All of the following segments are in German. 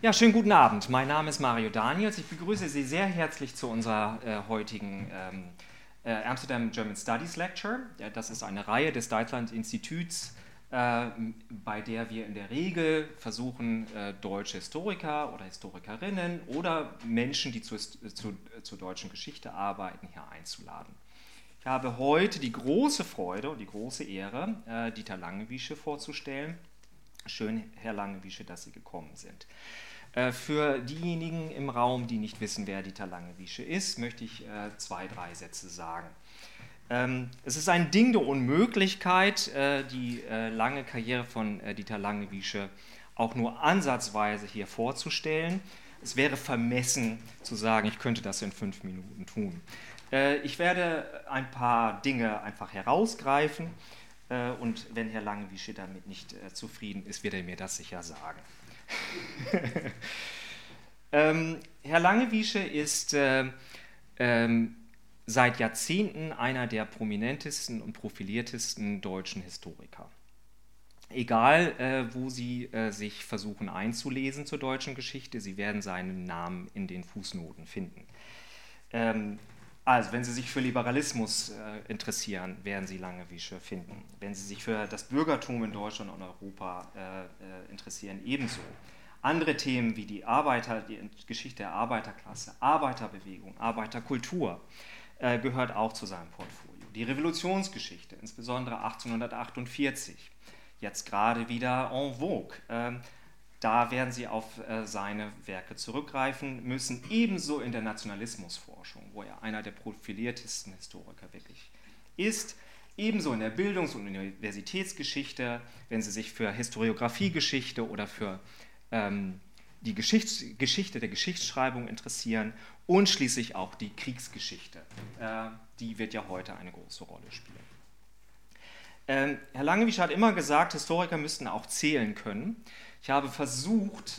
Ja, schönen guten Abend. Mein Name ist Mario Daniels. Ich begrüße Sie sehr herzlich zu unserer heutigen Amsterdam German Studies Lecture. Das ist eine Reihe des Deutschland-Instituts, bei der wir in der Regel versuchen, deutsche Historiker oder Historikerinnen oder Menschen, die zur deutschen Geschichte arbeiten, hier einzuladen. Ich habe heute die große Freude und die große Ehre, Dieter Langewiesche vorzustellen. Schön, Herr Langewiesche, dass Sie gekommen sind. Für diejenigen im Raum, die nicht wissen, wer Dieter Langewiesche ist, möchte ich 2, 3 Sätze sagen. Es ist ein Ding der Unmöglichkeit, die lange Karriere von Dieter Langewiesche auch nur ansatzweise hier vorzustellen. Es wäre vermessen zu sagen, ich könnte das in 5 Minuten tun. Ich werde ein paar Dinge einfach herausgreifen und wenn Herr Langewiesche damit nicht zufrieden ist, wird er mir das sicher sagen. Herr Langewiesche ist seit Jahrzehnten einer der prominentesten und profiliertesten deutschen Historiker. Egal, wo Sie sich versuchen einzulesen zur deutschen Geschichte, Sie werden seinen Namen in den Fußnoten finden. Also, wenn Sie sich für Liberalismus interessieren, werden Sie Langewiesche finden. Wenn Sie sich für das Bürgertum in Deutschland und Europa interessieren, ebenso. Andere Themen wie die Geschichte der Arbeiterklasse, Arbeiterbewegung, Arbeiterkultur gehört auch zu seinem Portfolio. Die Revolutionsgeschichte, insbesondere 1848, jetzt gerade wieder en vogue. Da werden Sie auf seine Werke zurückgreifen müssen, ebenso in der Nationalismusforschung, wo er einer der profiliertesten Historiker wirklich ist, ebenso in der Bildungs- und Universitätsgeschichte, wenn Sie sich für Historiografiegeschichte oder für die Geschichte der Geschichtsschreibung interessieren und schließlich auch die Kriegsgeschichte. Die wird ja heute eine große Rolle spielen. Herr Langewiesche hat immer gesagt, Historiker müssten auch zählen können. Ich habe versucht,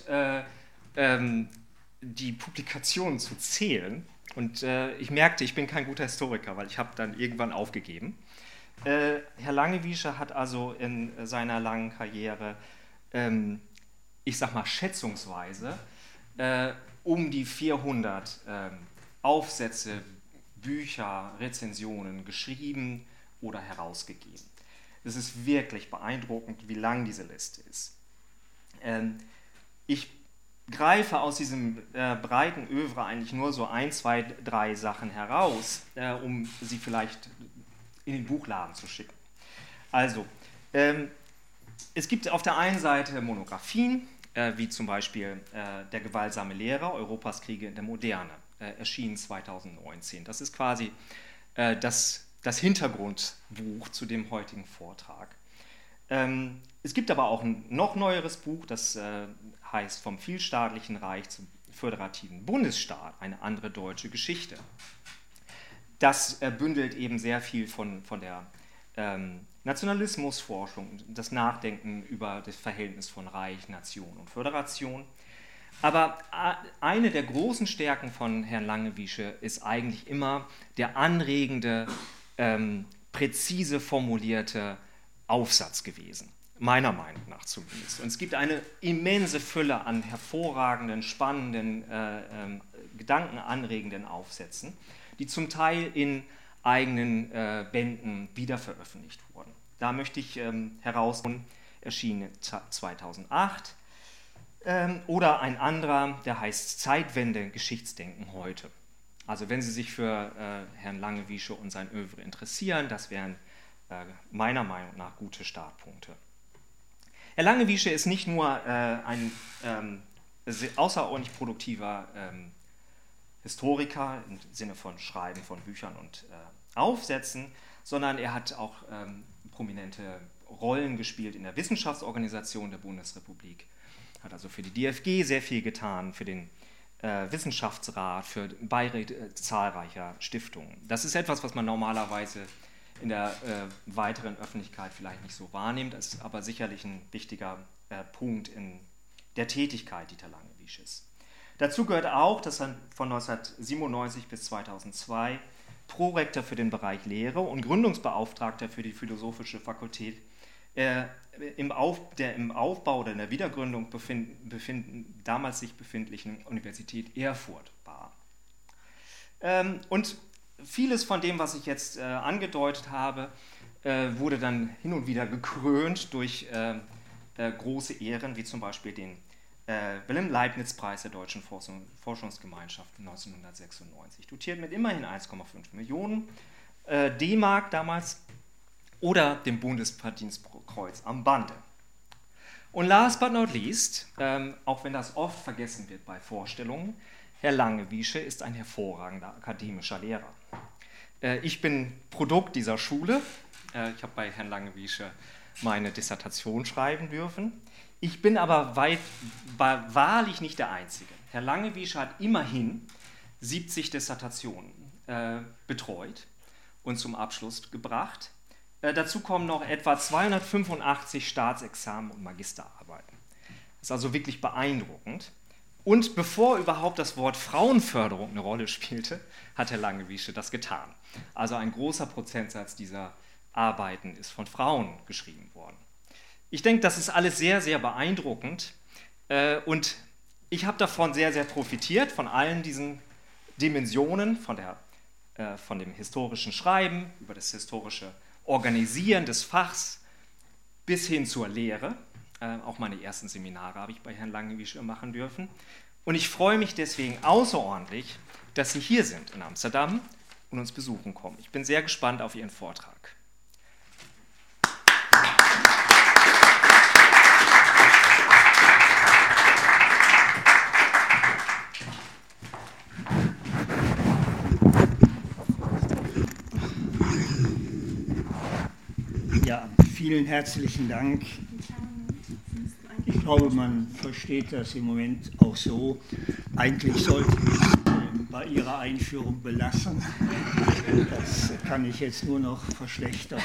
die Publikationen zu zählen und ich merkte, ich bin kein guter Historiker, weil ich habe dann irgendwann aufgegeben. Herr Langewiesche hat also in seiner langen Karriere, ich sag mal schätzungsweise, um die 400 Aufsätze, Bücher, Rezensionen geschrieben oder herausgegeben. Es ist wirklich beeindruckend, wie lang diese Liste ist. Ich greife aus diesem breiten Œuvre eigentlich nur so 1, 2, 3 Sachen heraus, um sie vielleicht in den Buchladen zu schicken. Also, es gibt auf der einen Seite Monographien, wie zum Beispiel Der gewaltsame Lehrer, Europas Kriege in der Moderne, erschienen 2019. Das ist quasi das Hintergrundbuch zu dem heutigen Vortrag. Es gibt aber auch ein noch neueres Buch, das heißt Vom vielstaatlichen Reich zum föderativen Bundesstaat, eine andere deutsche Geschichte. Das bündelt eben sehr viel von der Nationalismusforschung, das Nachdenken über das Verhältnis von Reich, Nation und Föderation. Aber eine der großen Stärken von Herrn Langewiesche ist eigentlich immer der anregende, präzise formulierte Aufsatz gewesen, meiner Meinung nach zumindest. Und es gibt eine immense Fülle an hervorragenden, spannenden, gedankenanregenden Aufsätzen, die zum Teil in eigenen Bänden wiederveröffentlicht wurden. Da möchte ich herausholen, erschienen 2008, oder ein anderer, der heißt Zeitwende, Geschichtsdenken heute. Also wenn Sie sich für Herrn Langewiesche und sein Œuvre interessieren, das wären meiner Meinung nach gute Startpunkte. Herr Langewiesche ist nicht nur ein außerordentlich produktiver Historiker im Sinne von Schreiben von Büchern und Aufsätzen, sondern er hat auch prominente Rollen gespielt in der Wissenschaftsorganisation der Bundesrepublik, hat also für die DFG sehr viel getan, für den Wissenschaftsrat, für Beiräte zahlreicher Stiftungen. Das ist etwas, was man normalerweise in der weiteren Öffentlichkeit vielleicht nicht so wahrnimmt, ist aber sicherlich ein wichtiger Punkt in der Tätigkeit Dieter Langewiesches. Dazu gehört auch, dass er von 1997 bis 2002 Prorektor für den Bereich Lehre und Gründungsbeauftragter für die Philosophische Fakultät im Aufbau oder in der Wiedergründung damals sich befindlichen Universität Erfurt war. Und vieles von dem, was ich jetzt angedeutet habe, wurde dann hin und wieder gekrönt durch große Ehren, wie zum Beispiel den Wilhelm-Leibniz-Preis der Deutschen Forschungsgemeinschaft 1996, dotiert mit immerhin 1,5 Millionen D-Mark damals, oder dem Bundesverdienstkreuz am Bande. Und last but not least, auch wenn das oft vergessen wird bei Vorstellungen, Herr Langewiesche ist ein hervorragender akademischer Lehrer. Ich bin Produkt dieser Schule. Ich habe bei Herrn Langewiesche meine Dissertation schreiben dürfen. Ich bin aber wahrlich nicht der Einzige. Herr Langewiesche hat immerhin 70 Dissertationen betreut und zum Abschluss gebracht. Dazu kommen noch etwa 285 Staatsexamen und Magisterarbeiten. Das ist also wirklich beeindruckend. Und bevor überhaupt das Wort Frauenförderung eine Rolle spielte, hat Herr Langewiesche das getan. Also ein großer Prozentsatz dieser Arbeiten ist von Frauen geschrieben worden. Ich denke, das ist alles sehr, sehr beeindruckend und ich habe davon sehr, sehr profitiert, von allen diesen Dimensionen, von dem historischen Schreiben, über das historische Organisieren des Fachs bis hin zur Lehre. Auch meine ersten Seminare habe ich bei Herrn Langewiesche machen dürfen. Und ich freue mich deswegen außerordentlich, dass Sie hier sind in Amsterdam und uns besuchen kommen. Ich bin sehr gespannt auf Ihren Vortrag. Ja, vielen herzlichen Dank. Ich glaube, man versteht das im Moment auch so. Eigentlich sollte ich es bei Ihrer Einführung belassen. Das kann ich jetzt nur noch verschlechtern.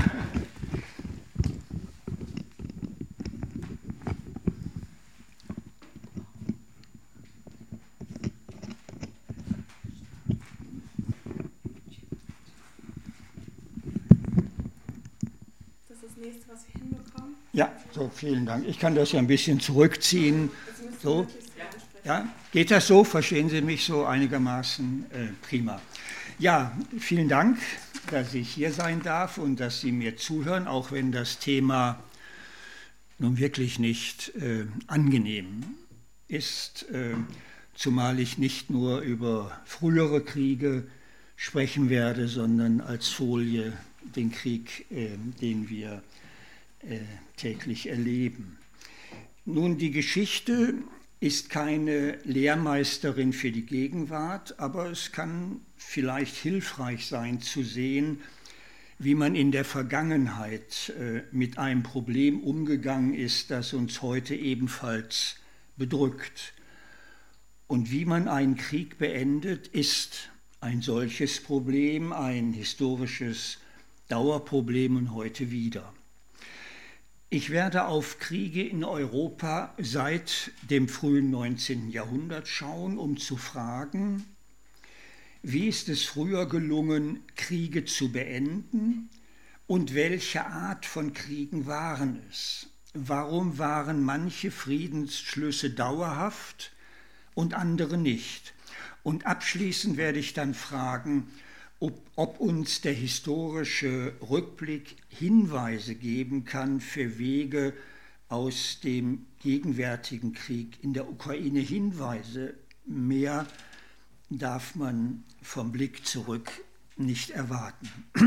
Ja, so, vielen Dank. Ich kann das ja ein bisschen zurückziehen. So. Ja, geht das so? Verstehen Sie mich so einigermaßen? Prima. Ja, vielen Dank, dass ich hier sein darf und dass Sie mir zuhören, auch wenn das Thema nun wirklich nicht angenehm ist, zumal ich nicht nur über frühere Kriege sprechen werde, sondern als Folie den Krieg, den wir täglich erleben. Nun, die Geschichte ist keine Lehrmeisterin für die Gegenwart, aber es kann vielleicht hilfreich sein zu sehen, wie man in der Vergangenheit mit einem Problem umgegangen ist, das uns heute ebenfalls bedrückt. Und wie man einen Krieg beendet, ist ein solches Problem, ein historisches Dauerproblem und heute wieder. Ich werde auf Kriege in Europa seit dem frühen 19. Jahrhundert schauen, um zu fragen, wie ist es früher gelungen, Kriege zu beenden und welche Art von Kriegen waren es? Warum waren manche Friedensschlüsse dauerhaft und andere nicht? Und abschließend werde ich dann fragen, ob uns der historische Rückblick Hinweise geben kann für Wege aus dem gegenwärtigen Krieg in der Ukraine. Hinweise, mehr darf man vom Blick zurück nicht erwarten.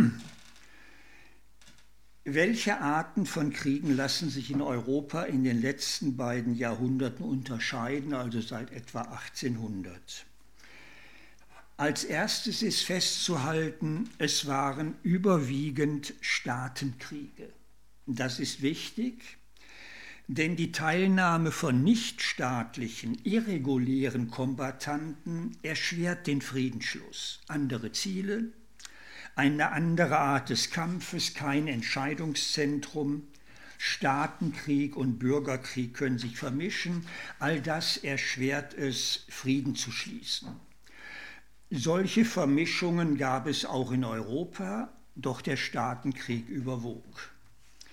Welche Arten von Kriegen lassen sich in Europa in den letzten beiden Jahrhunderten unterscheiden, also seit etwa 1800? Als erstes ist festzuhalten, es waren überwiegend Staatenkriege. Das ist wichtig, denn die Teilnahme von nichtstaatlichen, irregulären Kombattanten erschwert den Friedensschluss. Andere Ziele, eine andere Art des Kampfes, kein Entscheidungszentrum, Staatenkrieg und Bürgerkrieg können sich vermischen. All das erschwert es, Frieden zu schließen. Solche Vermischungen gab es auch in Europa, doch der Staatenkrieg überwog.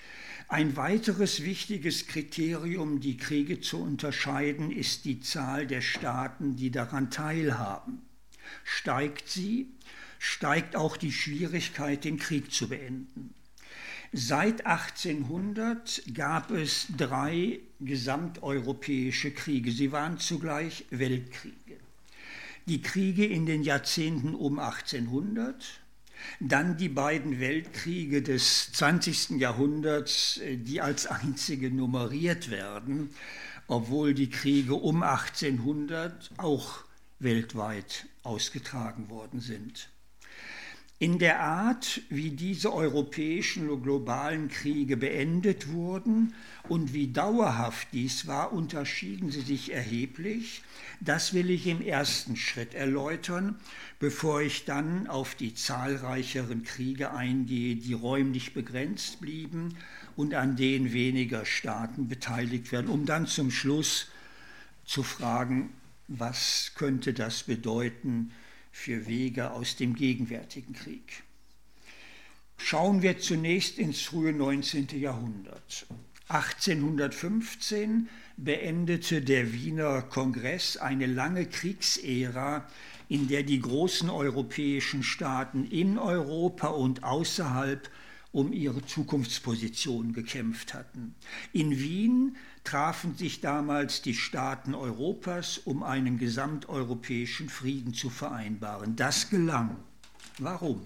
Ein weiteres wichtiges Kriterium, die Kriege zu unterscheiden, ist die Zahl der Staaten, die daran teilhaben. Steigt sie, steigt auch die Schwierigkeit, den Krieg zu beenden. Seit 1800 gab es 3 gesamteuropäische Kriege. Sie waren zugleich Weltkriege. Die Kriege in den Jahrzehnten um 1800, dann die beiden Weltkriege des 20. Jahrhunderts, die als einzige nummeriert werden, obwohl die Kriege um 1800 auch weltweit ausgetragen worden sind. In der Art, wie diese europäischen und globalen Kriege beendet wurden und wie dauerhaft dies war, unterschieden sie sich erheblich. Das will ich im ersten Schritt erläutern, bevor ich dann auf die zahlreicheren Kriege eingehe, die räumlich begrenzt blieben und an denen weniger Staaten beteiligt werden, um dann zum Schluss zu fragen, was könnte das bedeuten für Wege aus dem gegenwärtigen Krieg. Schauen wir zunächst ins frühe 19. Jahrhundert. 1815 beendete der Wiener Kongress eine lange Kriegsära, in der die großen europäischen Staaten in Europa und außerhalb um ihre Zukunftsposition gekämpft hatten. In Wien trafen sich damals die Staaten Europas, um einen gesamteuropäischen Frieden zu vereinbaren. Das gelang. Warum?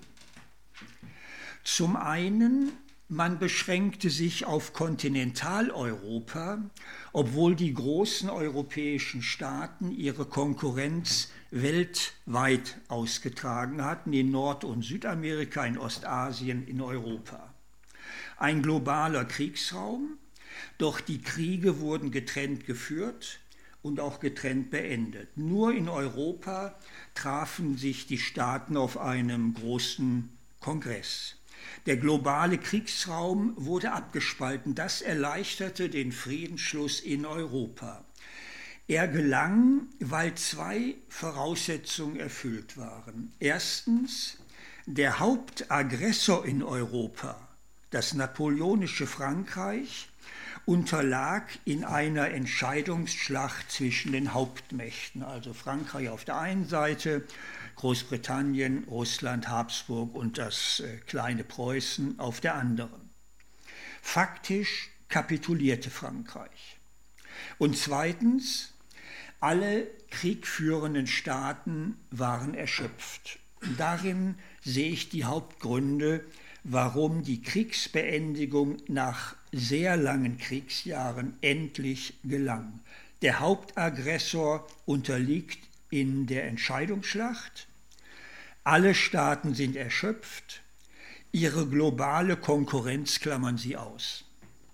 Zum einen, man beschränkte sich auf Kontinentaleuropa, obwohl die großen europäischen Staaten ihre Konkurrenz weltweit ausgetragen hatten, in Nord- und Südamerika, in Ostasien, in Europa. Ein globaler Kriegsraum, doch die Kriege wurden getrennt geführt und auch getrennt beendet. Nur in Europa trafen sich die Staaten auf einem großen Kongress. Der globale Kriegsraum wurde abgespalten. Das erleichterte den Friedensschluss in Europa. Er gelang, weil 2 Voraussetzungen erfüllt waren. Erstens, der Hauptaggressor in Europa, das napoleonische Frankreich, unterlag in einer Entscheidungsschlacht zwischen den Hauptmächten, also Frankreich auf der einen Seite, Großbritannien, Russland, Habsburg und das kleine Preußen auf der anderen. Faktisch kapitulierte Frankreich. Und zweitens, alle kriegführenden Staaten waren erschöpft. Darin sehe ich die Hauptgründe, warum die Kriegsbeendigung nach sehr langen Kriegsjahren endlich gelang. Der Hauptaggressor unterliegt in der Entscheidungsschlacht, alle Staaten sind erschöpft, ihre globale Konkurrenz klammern sie aus.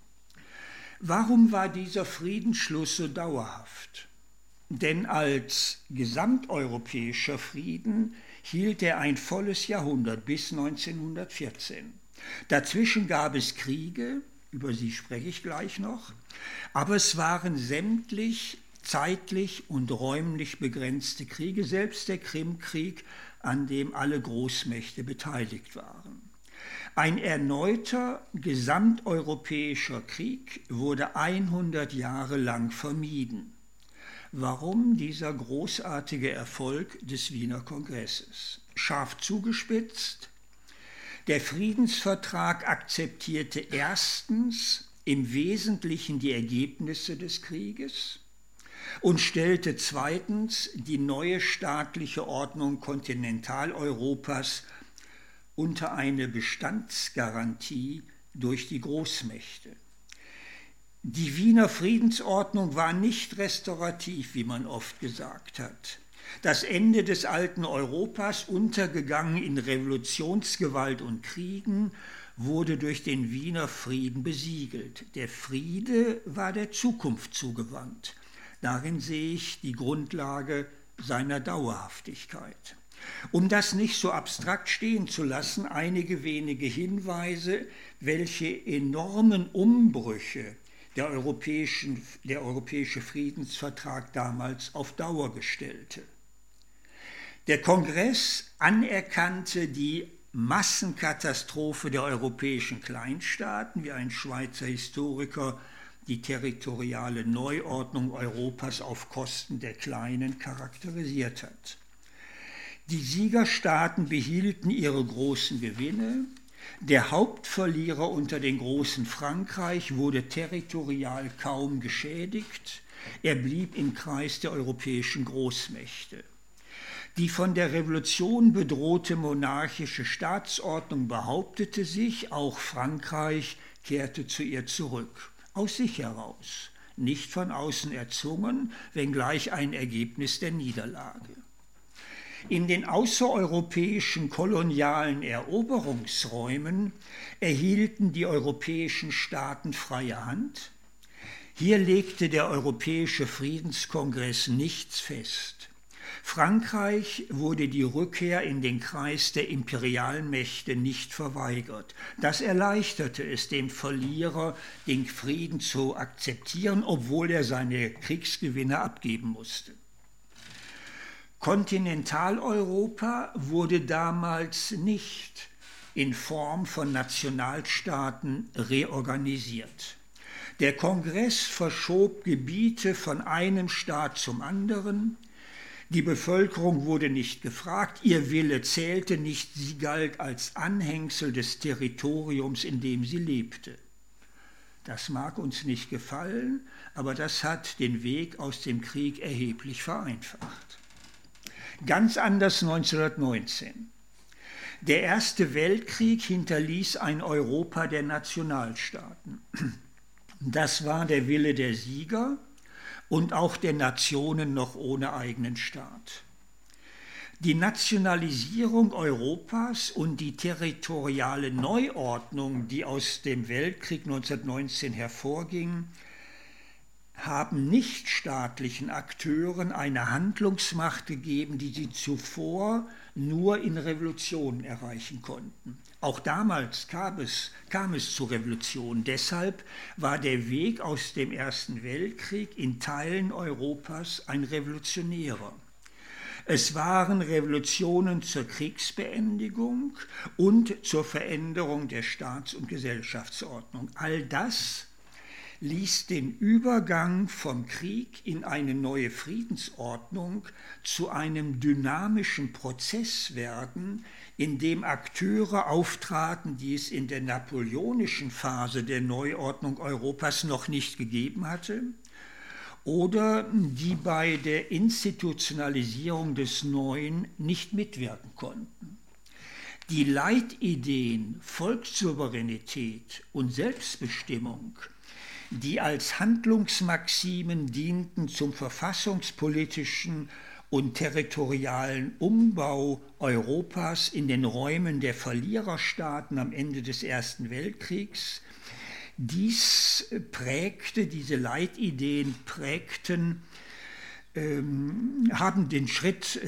Warum war dieser Friedensschluss so dauerhaft? Denn als gesamteuropäischer Frieden hielt er ein volles Jahrhundert bis 1914. Dazwischen gab es Kriege, über sie spreche ich gleich noch, aber es waren sämtlich zeitlich und räumlich begrenzte Kriege, selbst der Krimkrieg, an dem alle Großmächte beteiligt waren. Ein erneuter gesamteuropäischer Krieg wurde 100 Jahre lang vermieden. Warum dieser großartige Erfolg des Wiener Kongresses? Scharf zugespitzt, der Friedensvertrag akzeptierte erstens im Wesentlichen die Ergebnisse des Krieges und stellte zweitens die neue staatliche Ordnung Kontinentaleuropas unter eine Bestandsgarantie durch die Großmächte. Die Wiener Friedensordnung war nicht restaurativ, wie man oft gesagt hat. Das Ende des alten Europas, untergegangen in Revolutionsgewalt und Kriegen, wurde durch den Wiener Frieden besiegelt. Der Friede war der Zukunft zugewandt. Darin sehe ich die Grundlage seiner Dauerhaftigkeit. Um das nicht so abstrakt stehen zu lassen, einige wenige Hinweise, welche enormen Umbrüche der europäische Friedensvertrag damals auf Dauer gestellte. Der Kongress anerkannte die Massenkatastrophe der europäischen Kleinstaaten, wie ein Schweizer Historiker die territoriale Neuordnung Europas auf Kosten der Kleinen charakterisiert hat. Die Siegerstaaten behielten ihre großen Gewinne. Der Hauptverlierer unter den Großen, Frankreich, wurde territorial kaum geschädigt. Er blieb im Kreis der europäischen Großmächte. Die von der Revolution bedrohte monarchische Staatsordnung behauptete sich, auch Frankreich kehrte zu ihr zurück, aus sich heraus, nicht von außen erzwungen, wenngleich ein Ergebnis der Niederlage. In den außereuropäischen kolonialen Eroberungsräumen erhielten die europäischen Staaten freie Hand. Hier legte der Europäische Friedenskongress nichts fest. Frankreich wurde die Rückkehr in den Kreis der Imperialmächte nicht verweigert. Das erleichterte es dem Verlierer, den Frieden zu akzeptieren, obwohl er seine Kriegsgewinne abgeben musste. Kontinentaleuropa wurde damals nicht in Form von Nationalstaaten reorganisiert. Der Kongress verschob Gebiete von einem Staat zum anderen. Die Bevölkerung wurde nicht gefragt, ihr Wille zählte nicht, sie galt als Anhängsel des Territoriums, in dem sie lebte. Das mag uns nicht gefallen, aber das hat den Weg aus dem Krieg erheblich vereinfacht. Ganz anders 1919. Der Erste Weltkrieg hinterließ ein Europa der Nationalstaaten. Das war der Wille der Sieger und auch der Nationen noch ohne eigenen Staat. Die Nationalisierung Europas und die territoriale Neuordnung, die aus dem Weltkrieg 1919 hervorging, haben nichtstaatlichen Akteuren eine Handlungsmacht gegeben, die sie zuvor nur in Revolutionen erreichen konnten. Auch damals kam es zu Revolutionen. Deshalb war der Weg aus dem Ersten Weltkrieg in Teilen Europas ein revolutionärer. Es waren Revolutionen zur Kriegsbeendigung und zur Veränderung der Staats- und Gesellschaftsordnung. All das ließ den Übergang vom Krieg in eine neue Friedensordnung zu einem dynamischen Prozess werden, in dem Akteure auftraten, die es in der napoleonischen Phase der Neuordnung Europas noch nicht gegeben hatte, oder die bei der Institutionalisierung des Neuen nicht mitwirken konnten. Die Leitideen Volkssouveränität und Selbstbestimmung, die als Handlungsmaximen dienten zum verfassungspolitischen und territorialen Umbau Europas in den Räumen der Verliererstaaten am Ende des Ersten Weltkriegs, diese Leitideen haben den Schritt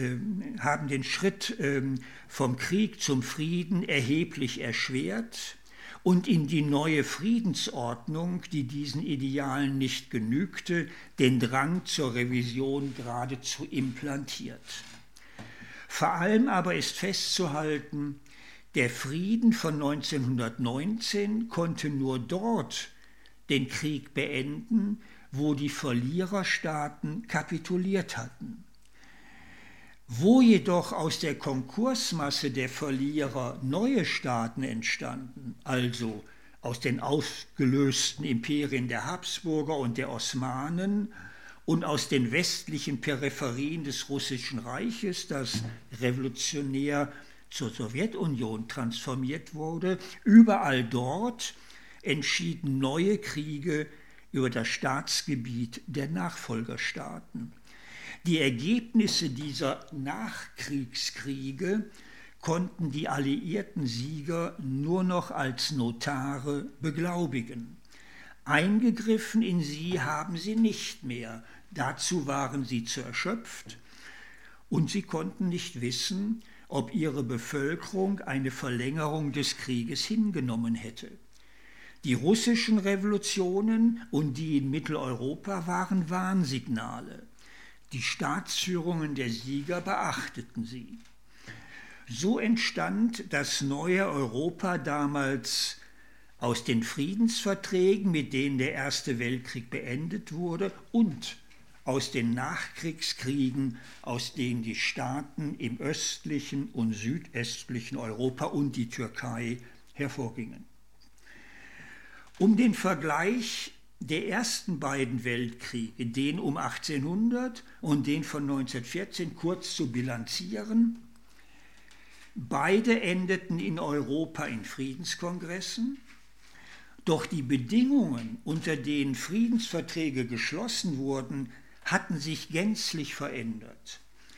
vom Krieg zum Frieden erheblich erschwert und in die neue Friedensordnung, die diesen Idealen nicht genügte, den Drang zur Revision geradezu implantiert. Vor allem aber ist festzuhalten, der Frieden von 1919 konnte nur dort den Krieg beenden, wo die Verliererstaaten kapituliert hatten. Wo jedoch aus der Konkursmasse der Verlierer neue Staaten entstanden, also aus den aufgelösten Imperien der Habsburger und der Osmanen und aus den westlichen Peripherien des Russischen Reiches, das revolutionär zur Sowjetunion transformiert wurde, überall dort entschieden neue Kriege über das Staatsgebiet der Nachfolgerstaaten. Die Ergebnisse dieser Nachkriegskriege konnten die alliierten Sieger nur noch als Notare beglaubigen. Eingegriffen in sie haben sie nicht mehr. Dazu waren sie zu erschöpft und sie konnten nicht wissen, ob ihre Bevölkerung eine Verlängerung des Krieges hingenommen hätte. Die russischen Revolutionen und die in Mitteleuropa waren Warnsignale. Die Staatsführungen der Sieger beachteten sie. So entstand das neue Europa damals aus den Friedensverträgen, mit denen der Erste Weltkrieg beendet wurde, und aus den Nachkriegskriegen, aus denen die Staaten im östlichen und südöstlichen Europa und die Türkei hervorgingen. Um den Vergleich der ersten beiden Weltkriege, den um 1800 und den von 1914, kurz zu bilanzieren: Beide endeten in Europa in Friedenskongressen, doch die Bedingungen, unter denen Friedensverträge geschlossen wurden, hatten sich gänzlich verändert.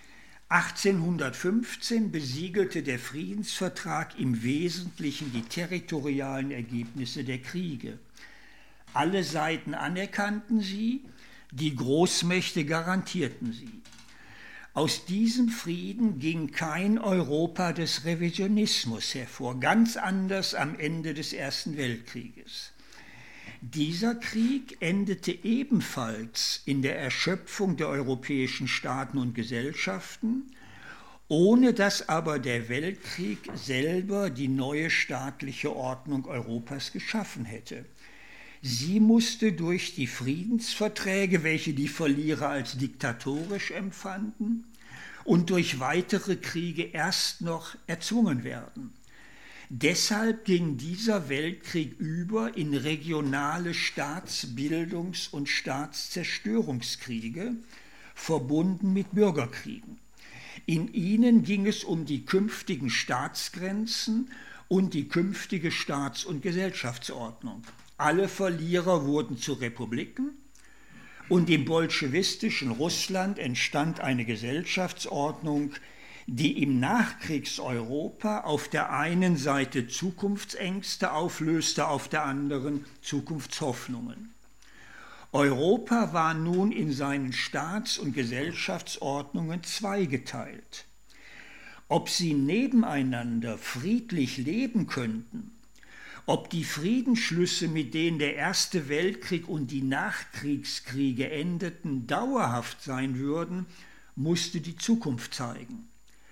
1815 besiegelte der Friedensvertrag im Wesentlichen die territorialen Ergebnisse der Kriege. Alle Seiten anerkannten sie, die Großmächte garantierten sie. Aus diesem Frieden ging kein Europa des Revisionismus hervor, ganz anders am Ende des Ersten Weltkrieges. Dieser Krieg endete ebenfalls in der Erschöpfung der europäischen Staaten und Gesellschaften, ohne dass aber der Weltkrieg selber die neue staatliche Ordnung Europas geschaffen hätte. Sie musste durch die Friedensverträge, welche die Verlierer als diktatorisch empfanden, und durch weitere Kriege erst noch erzwungen werden. Deshalb ging dieser Weltkrieg über in regionale Staatsbildungs- und Staatszerstörungskriege, verbunden mit Bürgerkriegen. In ihnen ging es um die künftigen Staatsgrenzen und die künftige Staats- und Gesellschaftsordnung. Alle Verlierer wurden zu Republiken und im bolschewistischen Russland entstand eine Gesellschaftsordnung, die im Nachkriegseuropa auf der einen Seite Zukunftsängste auflöste, auf der anderen Zukunftshoffnungen. Europa war nun in seinen Staats- und Gesellschaftsordnungen zweigeteilt. Ob sie nebeneinander friedlich leben könnten, ob die Friedensschlüsse, mit denen der Erste Weltkrieg und die Nachkriegskriege endeten, dauerhaft sein würden, musste die Zukunft zeigen.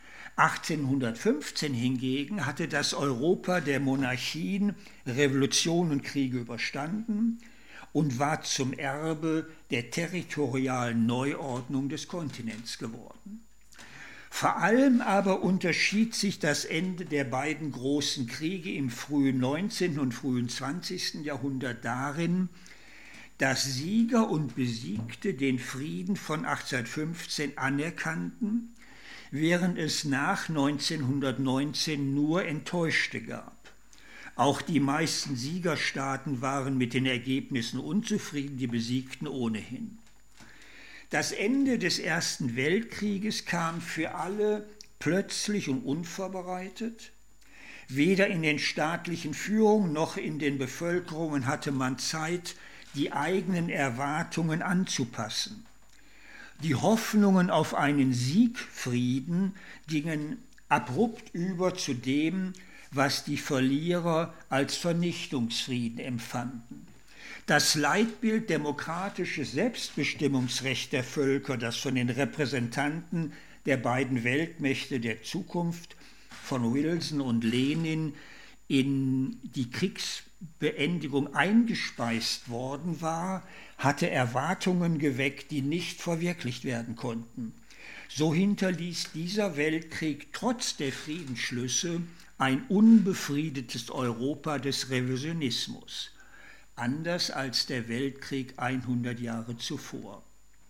1815 hingegen hatte das Europa der Monarchien Revolution und Kriege überstanden und war zum Erbe der territorialen Neuordnung des Kontinents geworden. Vor allem aber unterschied sich das Ende der beiden großen Kriege im frühen 19. und frühen 20. Jahrhundert darin, dass Sieger und Besiegte den Frieden von 1815 anerkannten, während es nach 1919 nur Enttäuschte gab. Auch die meisten Siegerstaaten waren mit den Ergebnissen unzufrieden, die Besiegten ohnehin. Das Ende des Ersten Weltkrieges kam für alle plötzlich und unvorbereitet. Weder in den staatlichen Führungen noch in den Bevölkerungen hatte man Zeit, die eigenen Erwartungen anzupassen. Die Hoffnungen auf einen Siegfrieden gingen abrupt über zu dem, was die Verlierer als Vernichtungsfrieden empfanden. Das Leitbild demokratisches Selbstbestimmungsrecht der Völker, das von den Repräsentanten der beiden Weltmächte der Zukunft, von Wilson und Lenin, in die Kriegsbeendigung eingespeist worden war, hatte Erwartungen geweckt, die nicht verwirklicht werden konnten. So hinterließ dieser Weltkrieg trotz der Friedensschlüsse ein unbefriedetes Europa des Revisionismus, anders als der Weltkrieg 100 Jahre zuvor.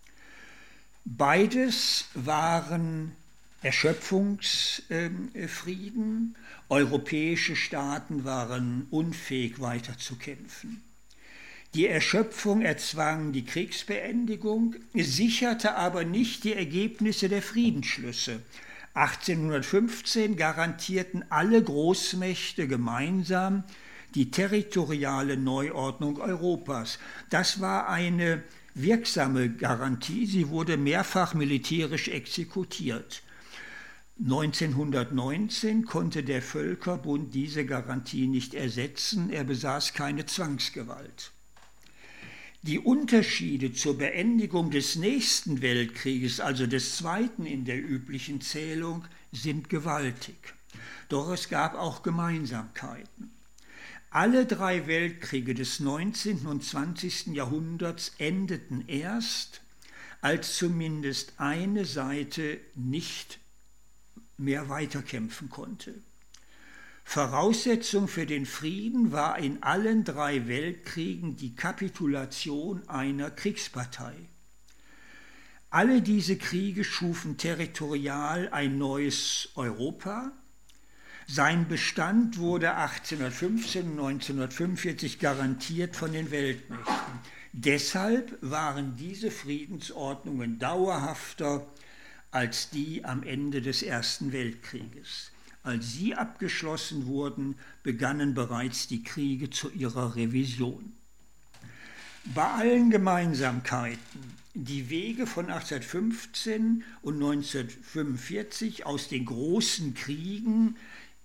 Beides waren Erschöpfungsfrieden. Europäische Staaten waren unfähig weiterzukämpfen. Die Erschöpfung erzwang die Kriegsbeendigung, sicherte aber nicht die Ergebnisse der Friedensschlüsse. 1815 garantierten alle Großmächte gemeinsam die territoriale Neuordnung Europas. Das war eine wirksame Garantie, sie wurde mehrfach militärisch exekutiert. 1919 konnte der Völkerbund diese Garantie nicht ersetzen, er besaß keine Zwangsgewalt. Die Unterschiede zur Beendigung des nächsten Weltkrieges, also des zweiten in der üblichen Zählung, sind gewaltig. Doch es gab auch Gemeinsamkeiten. Alle 3 Weltkriege des 19. und 20. Jahrhunderts endeten erst, als zumindest eine Seite nicht mehr weiterkämpfen konnte. Voraussetzung für den Frieden war in allen 3 Weltkriegen die Kapitulation einer Kriegspartei. Alle diese Kriege schufen territorial ein neues Europa. Sein Bestand wurde 1815 und 1945 garantiert von den Weltmächten. Deshalb waren diese Friedensordnungen dauerhafter als die am Ende des Ersten Weltkrieges. Als sie abgeschlossen wurden, begannen bereits die Kriege zu ihrer Revision. Bei allen Gemeinsamkeiten, die Wege von 1815 und 1945 aus den großen Kriegen,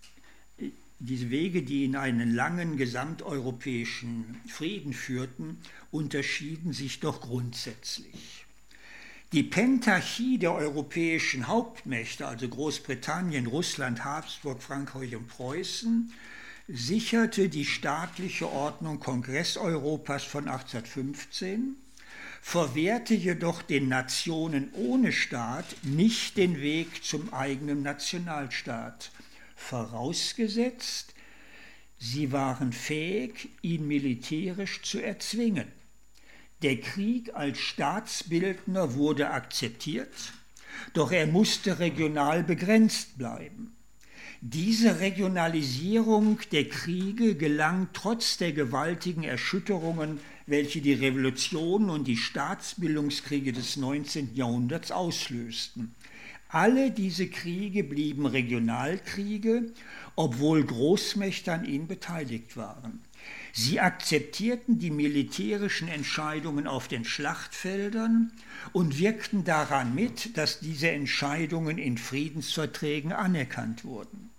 diese Wege, die in einen langen gesamteuropäischen Frieden führten, unterschieden sich doch grundsätzlich. Die Pentarchie der europäischen Hauptmächte, also Großbritannien, Russland, Habsburg, Frankreich und Preußen, sicherte die staatliche Ordnung Kongresseuropas von 1815, verwehrte jedoch den Nationen ohne Staat nicht den Weg zum eigenen Nationalstaat, vorausgesetzt, sie waren fähig, ihn militärisch zu erzwingen. Der Krieg als Staatsbildner wurde akzeptiert, doch er musste regional begrenzt bleiben. Diese Regionalisierung der Kriege gelang trotz der gewaltigen Erschütterungen, welche die Revolution und die Staatsbildungskriege des 19. Jahrhunderts auslösten. Alle diese Kriege blieben Regionalkriege, obwohl Großmächte an ihnen beteiligt waren. Sie akzeptierten die militärischen Entscheidungen auf den Schlachtfeldern und wirkten daran mit, dass diese Entscheidungen in Friedensverträgen anerkannt wurden.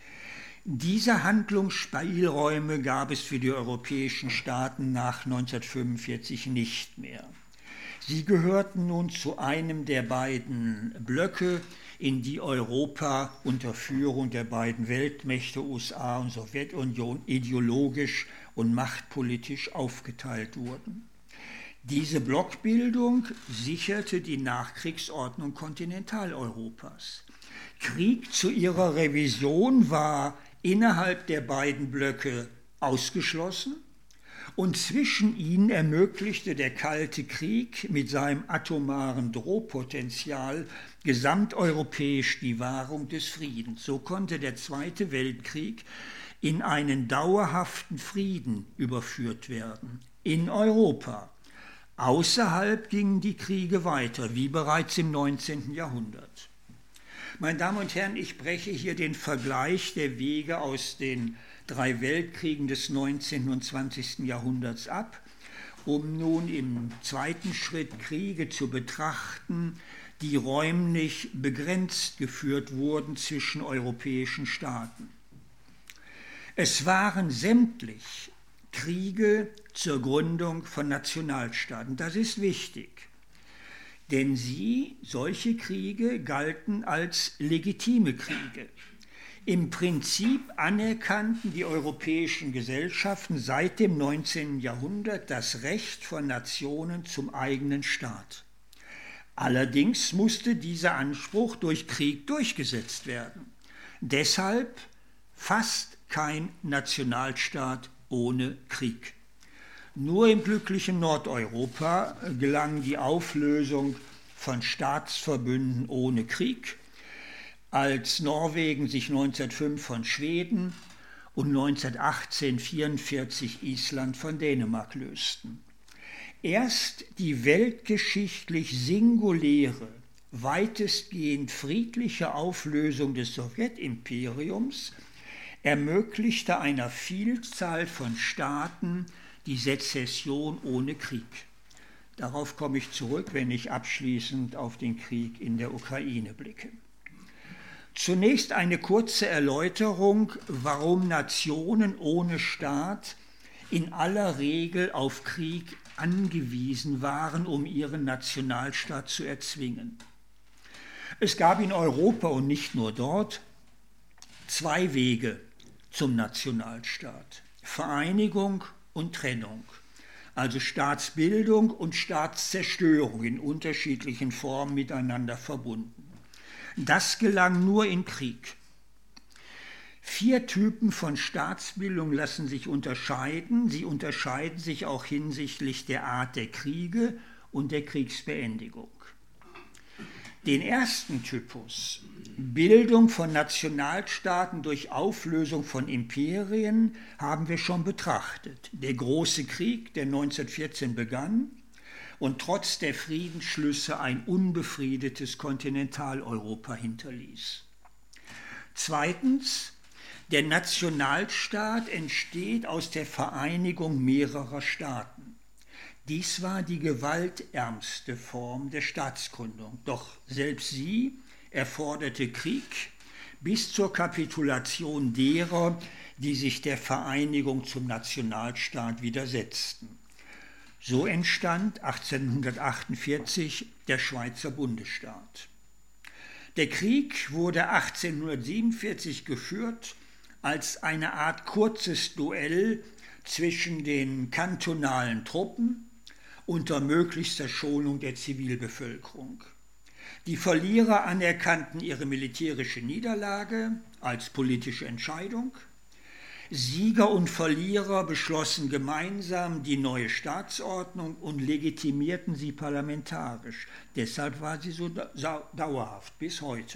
Diese Handlungsspielräume gab es für die europäischen Staaten nach 1945 nicht mehr. Sie gehörten nun zu einem der beiden Blöcke, in die Europa unter Führung der beiden Weltmächte USA und Sowjetunion ideologisch und machtpolitisch aufgeteilt wurden. Diese Blockbildung sicherte die Nachkriegsordnung Kontinentaleuropas. Krieg zu ihrer Revision war innerhalb der beiden Blöcke ausgeschlossen und zwischen ihnen ermöglichte der Kalte Krieg mit seinem atomaren Drohpotenzial gesamteuropäisch die Wahrung des Friedens. So konnte der Zweite Weltkrieg in einen dauerhaften Frieden überführt werden, in Europa. Außerhalb gingen die Kriege weiter, wie bereits im 19. Jahrhundert. Meine Damen und Herren, ich breche hier den Vergleich der Wege aus den 3 Weltkriegen des 19. und 20. Jahrhunderts ab, um nun im zweiten Schritt Kriege zu betrachten, die räumlich begrenzt geführt wurden zwischen europäischen Staaten. Es waren sämtlich Kriege zur Gründung von Nationalstaaten. Das ist wichtig, denn solche Kriege galten als legitime Kriege. Im Prinzip anerkannten die europäischen Gesellschaften seit dem 19. Jahrhundert das Recht von Nationen zum eigenen Staat. Allerdings musste dieser Anspruch durch Krieg durchgesetzt werden. Deshalb fast kein Nationalstaat ohne Krieg. Nur im glücklichen Nordeuropa gelang die Auflösung von Staatsverbünden ohne Krieg, als Norwegen sich 1905 von Schweden und 1918/44 Island von Dänemark lösten. Erst die weltgeschichtlich singuläre, weitestgehend friedliche Auflösung des Sowjetimperiums ermöglichte einer Vielzahl von Staaten die Sezession ohne Krieg. Darauf komme ich zurück, wenn ich abschließend auf den Krieg in der Ukraine blicke. Zunächst eine kurze Erläuterung, warum Nationen ohne Staat in aller Regel auf Krieg angewiesen waren, um ihren Nationalstaat zu erzwingen. Es gab in Europa und nicht nur dort 2 Wege zum Nationalstaat: Vereinigung und Trennung, also Staatsbildung und Staatszerstörung in unterschiedlichen Formen miteinander verbunden. Das gelang nur im Krieg. 4 Typen von Staatsbildung lassen sich unterscheiden. Sie unterscheiden sich auch hinsichtlich der Art der Kriege und der Kriegsbeendigung. Den ersten Typus, Bildung von Nationalstaaten durch Auflösung von Imperien, haben wir schon betrachtet. Der Große Krieg, der 1914 begann und trotz der Friedensschlüsse ein unbefriedetes Kontinentaleuropa hinterließ. Zweitens, der Nationalstaat entsteht aus der Vereinigung mehrerer Staaten. Dies war die gewaltärmste Form der Staatsgründung, doch selbst sie erforderte Krieg bis zur Kapitulation derer, die sich der Vereinigung zum Nationalstaat widersetzten. So entstand 1848 der Schweizer Bundesstaat. Der Krieg wurde 1847 geführt als eine Art kurzes Duell zwischen den kantonalen Truppen unter möglichster Schonung der Zivilbevölkerung. Die Verlierer anerkannten ihre militärische Niederlage als politische Entscheidung. Sieger und Verlierer beschlossen gemeinsam die neue Staatsordnung und legitimierten sie parlamentarisch. Deshalb war sie so dauerhaft bis heute.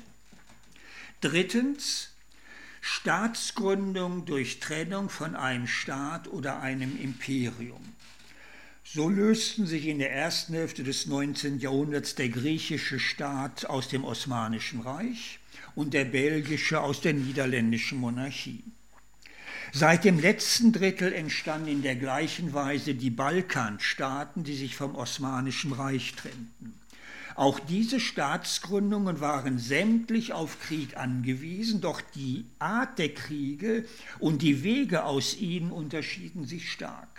Drittens, Staatsgründung durch Trennung von einem Staat oder einem Imperium. So lösten sich in der ersten Hälfte des 19. Jahrhunderts der griechische Staat aus dem Osmanischen Reich und der belgische aus der niederländischen Monarchie. Seit dem letzten Drittel entstanden in der gleichen Weise die Balkanstaaten, die sich vom Osmanischen Reich trennten. Auch diese Staatsgründungen waren sämtlich auf Krieg angewiesen, doch die Art der Kriege und die Wege aus ihnen unterschieden sich stark.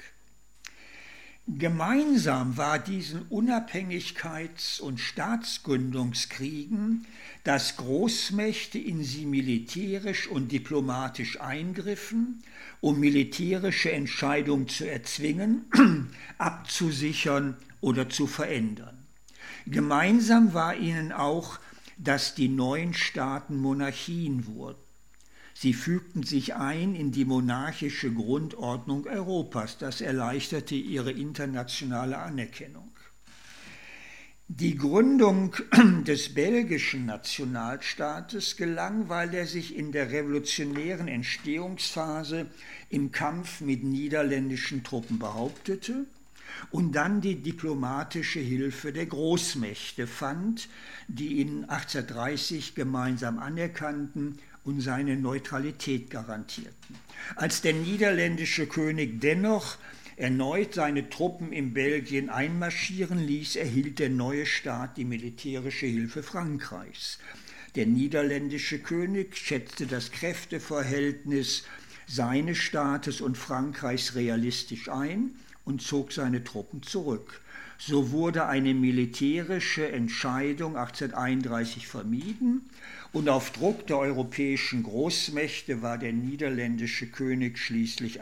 Gemeinsam war diesen Unabhängigkeits- und Staatsgründungskriegen, dass Großmächte in sie militärisch und diplomatisch eingriffen, um militärische Entscheidungen zu erzwingen, abzusichern oder zu verändern. Gemeinsam war ihnen auch, dass die neuen Staaten Monarchien wurden. Sie fügten sich ein in die monarchische Grundordnung Europas. Das erleichterte ihre internationale Anerkennung. Die Gründung des belgischen Nationalstaates gelang, weil er sich in der revolutionären Entstehungsphase im Kampf mit niederländischen Truppen behauptete und dann die diplomatische Hilfe der Großmächte fand, die ihn 1830 gemeinsam anerkannten und seine Neutralität garantierten. Als der niederländische König dennoch erneut seine Truppen in Belgien einmarschieren ließ, erhielt der neue Staat die militärische Hilfe Frankreichs. Der niederländische König schätzte das Kräfteverhältnis seines Staates und Frankreichs realistisch ein und zog seine Truppen zurück. So wurde eine militärische Entscheidung 1831 vermieden und auf Druck der europäischen Großmächte war der niederländische König schließlich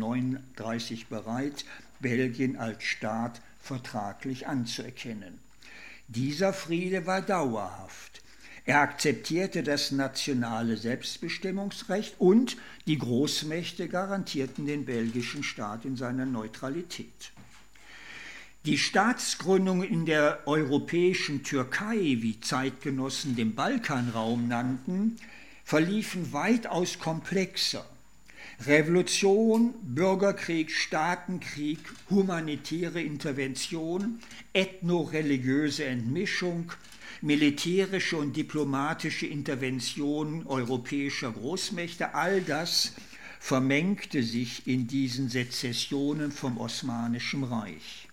1839 bereit, Belgien als Staat vertraglich anzuerkennen. Dieser Friede war dauerhaft. Er akzeptierte das nationale Selbstbestimmungsrecht und die Großmächte garantierten den belgischen Staat in seiner Neutralität. Die Staatsgründungen in der europäischen Türkei, wie Zeitgenossen den Balkanraum nannten, verliefen weitaus komplexer. Revolution, Bürgerkrieg, Staatenkrieg, humanitäre Intervention, ethno-religiöse Entmischung, militärische und diplomatische Intervention europäischer Großmächte, all das vermengte sich in diesen Sezessionen vom Osmanischen Reich.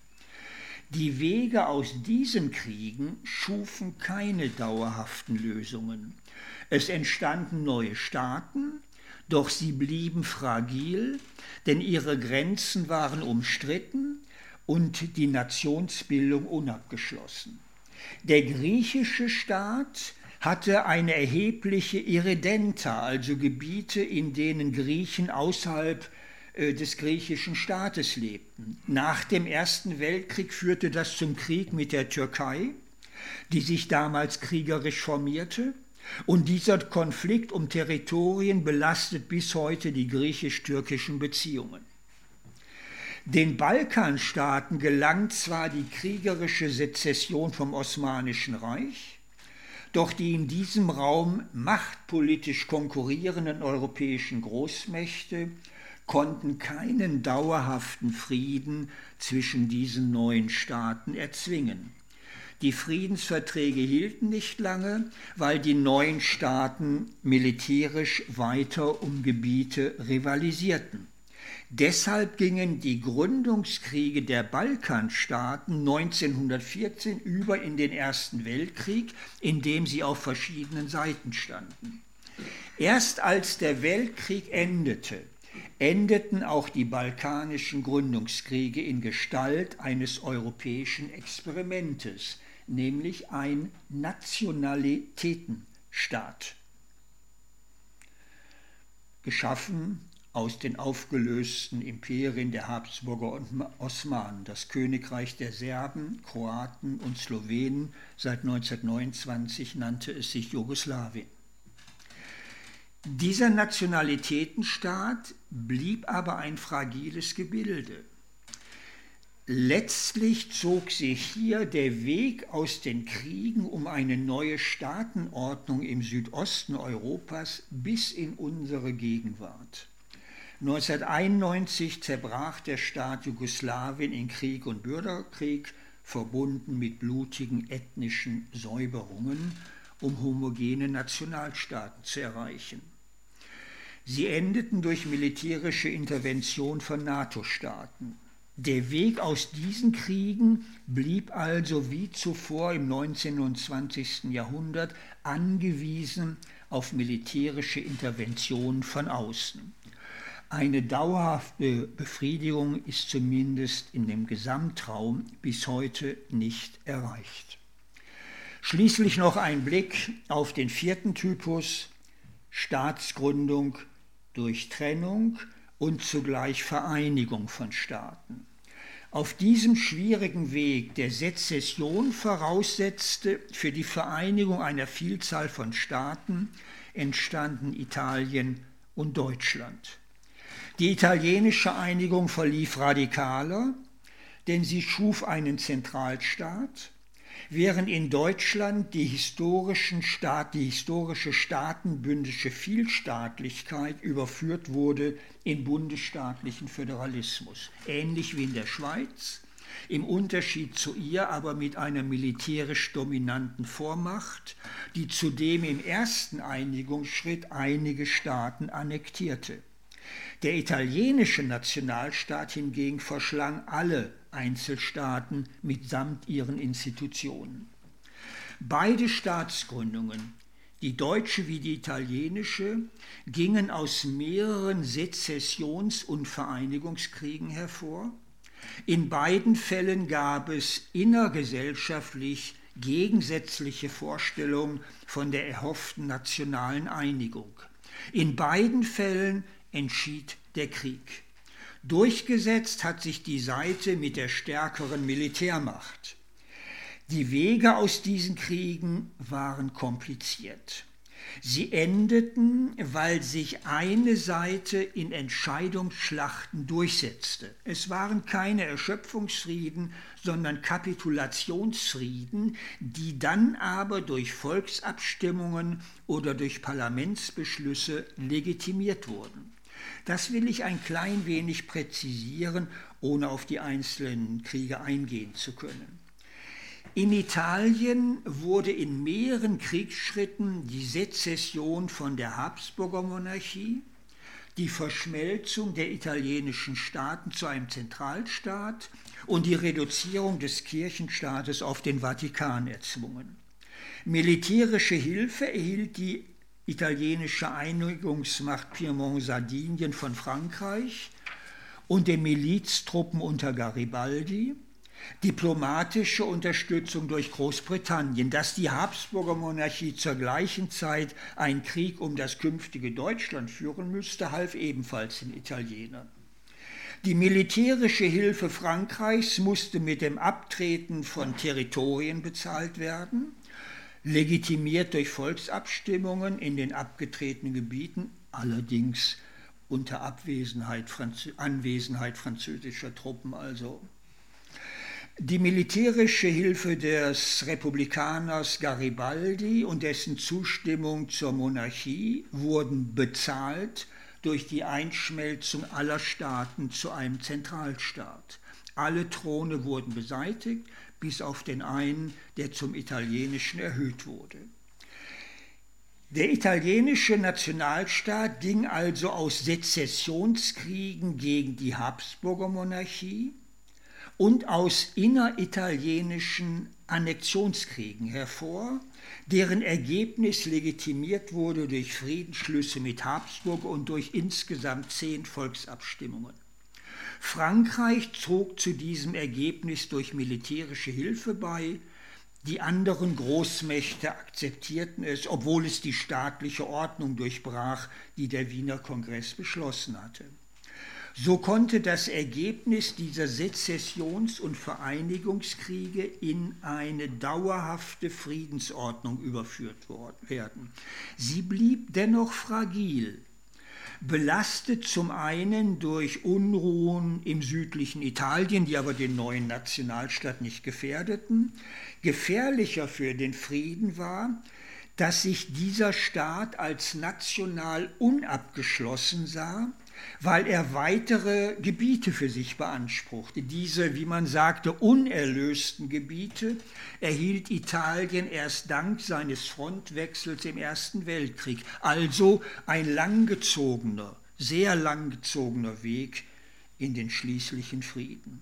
Die Wege aus diesen Kriegen schufen keine dauerhaften Lösungen. Es entstanden neue Staaten, doch sie blieben fragil, denn ihre Grenzen waren umstritten und die Nationsbildung unabgeschlossen. Der griechische Staat hatte eine erhebliche Irredenta, also Gebiete, in denen Griechen außerhalb des griechischen Staates lebten. Nach dem Ersten Weltkrieg führte das zum Krieg mit der Türkei, die sich damals kriegerisch formierte. Und dieser Konflikt um Territorien belastet bis heute die griechisch-türkischen Beziehungen. Den Balkanstaaten gelang zwar die kriegerische Sezession vom Osmanischen Reich, doch die in diesem Raum machtpolitisch konkurrierenden europäischen Großmächte konnten keinen dauerhaften Frieden zwischen diesen neuen Staaten erzwingen. Die Friedensverträge hielten nicht lange, weil die neuen Staaten militärisch weiter um Gebiete rivalisierten. Deshalb gingen die Gründungskriege der Balkanstaaten 1914 über in den Ersten Weltkrieg, in dem sie auf verschiedenen Seiten standen. Erst als der Weltkrieg endeten auch die balkanischen Gründungskriege in Gestalt eines europäischen Experimentes, nämlich ein Nationalitätenstaat, geschaffen aus den aufgelösten Imperien der Habsburger und Osmanen, das Königreich der Serben, Kroaten und Slowenen. Seit 1929 nannte es sich Jugoslawien. Dieser Nationalitätenstaat blieb aber ein fragiles Gebilde. Letztlich zog sich hier der Weg aus den Kriegen um eine neue Staatenordnung im Südosten Europas bis in unsere Gegenwart. 1991 zerbrach der Staat Jugoslawien in Krieg und Bürgerkrieg, verbunden mit blutigen ethnischen Säuberungen, um homogene Nationalstaaten zu erreichen. Sie endeten durch militärische Intervention von NATO-Staaten. Der Weg aus diesen Kriegen blieb also wie zuvor im 19. und 20. Jahrhundert angewiesen auf militärische Interventionen von außen. Eine dauerhafte Befriedigung ist zumindest in dem Gesamtraum bis heute nicht erreicht. Schließlich noch ein Blick auf den vierten Typus: Staatsgründung durch Trennung und zugleich Vereinigung von Staaten. Auf diesem schwierigen Weg der Sezession voraussetzte für die Vereinigung einer Vielzahl von Staaten entstanden Italien und Deutschland. Die italienische Einigung verlief radikaler, denn sie schuf einen Zentralstaat, während in Deutschland die historische staatenbündische Vielstaatlichkeit überführt wurde in bundesstaatlichen Föderalismus, ähnlich wie in der Schweiz, im Unterschied zu ihr aber mit einer militärisch dominanten Vormacht, die zudem im ersten Einigungsschritt einige Staaten annektierte. Der italienische Nationalstaat hingegen verschlang alle Einzelstaaten mitsamt ihren Institutionen. Beide Staatsgründungen, die deutsche wie die italienische, gingen aus mehreren Sezessions- und Vereinigungskriegen hervor. In beiden Fällen gab es innergesellschaftlich gegensätzliche Vorstellungen von der erhofften nationalen Einigung. In beiden Fällen entschied der Krieg. Durchgesetzt hat sich die Seite mit der stärkeren Militärmacht. Die Wege aus diesen Kriegen waren kompliziert. Sie endeten, weil sich eine Seite in Entscheidungsschlachten durchsetzte. Es waren keine Erschöpfungsfrieden, sondern Kapitulationsfrieden, die dann aber durch Volksabstimmungen oder durch Parlamentsbeschlüsse legitimiert wurden. Das will ich ein klein wenig präzisieren, ohne auf die einzelnen Kriege eingehen zu können. In Italien wurde in mehreren Kriegsschritten die Sezession von der Habsburger Monarchie, die Verschmelzung der italienischen Staaten zu einem Zentralstaat und die Reduzierung des Kirchenstaates auf den Vatikan erzwungen. Militärische Hilfe erhielt die italienische Einigungsmacht Piemont-Sardinien von Frankreich und den Miliztruppen unter Garibaldi. diplomatische Unterstützung durch Großbritannien. Dass die Habsburger Monarchie zur gleichen Zeit einen Krieg um das künftige Deutschland führen müsste, half ebenfalls den Italienern. Die militärische Hilfe Frankreichs musste mit dem Abtreten von Territorien bezahlt werden, legitimiert durch Volksabstimmungen in den abgetretenen Gebieten, allerdings unter Anwesenheit französischer Truppen also. Die militärische Hilfe des Republikaners Garibaldi und dessen Zustimmung zur Monarchie wurden bezahlt durch die Einschmelzung aller Staaten zu einem Zentralstaat. Alle Throne wurden beseitigt, bis auf den einen, der zum italienischen erhöht wurde. Der italienische Nationalstaat ging also aus Sezessionskriegen gegen die Habsburger Monarchie und aus inneritalienischen Annexionskriegen hervor, deren Ergebnis legitimiert wurde durch Friedensschlüsse mit Habsburg und durch insgesamt 10 Volksabstimmungen. Frankreich trug zu diesem Ergebnis durch militärische Hilfe bei. Die anderen Großmächte akzeptierten es, obwohl es die staatliche Ordnung durchbrach, die der Wiener Kongress beschlossen hatte. So konnte das Ergebnis dieser Sezessions- und Vereinigungskriege in eine dauerhafte Friedensordnung überführt werden. Sie blieb dennoch fragil, belastet zum einen durch Unruhen im südlichen Italien, die aber den neuen Nationalstaat nicht gefährdeten. Gefährlicher für den Frieden war, dass sich dieser Staat als national unabgeschlossen sah, weil er weitere Gebiete für sich beanspruchte. Diese, wie man sagte, unerlösten Gebiete erhielt Italien erst dank seines Frontwechsels im Ersten Weltkrieg. Also ein langgezogener, sehr langgezogener Weg in den schließlichen Frieden.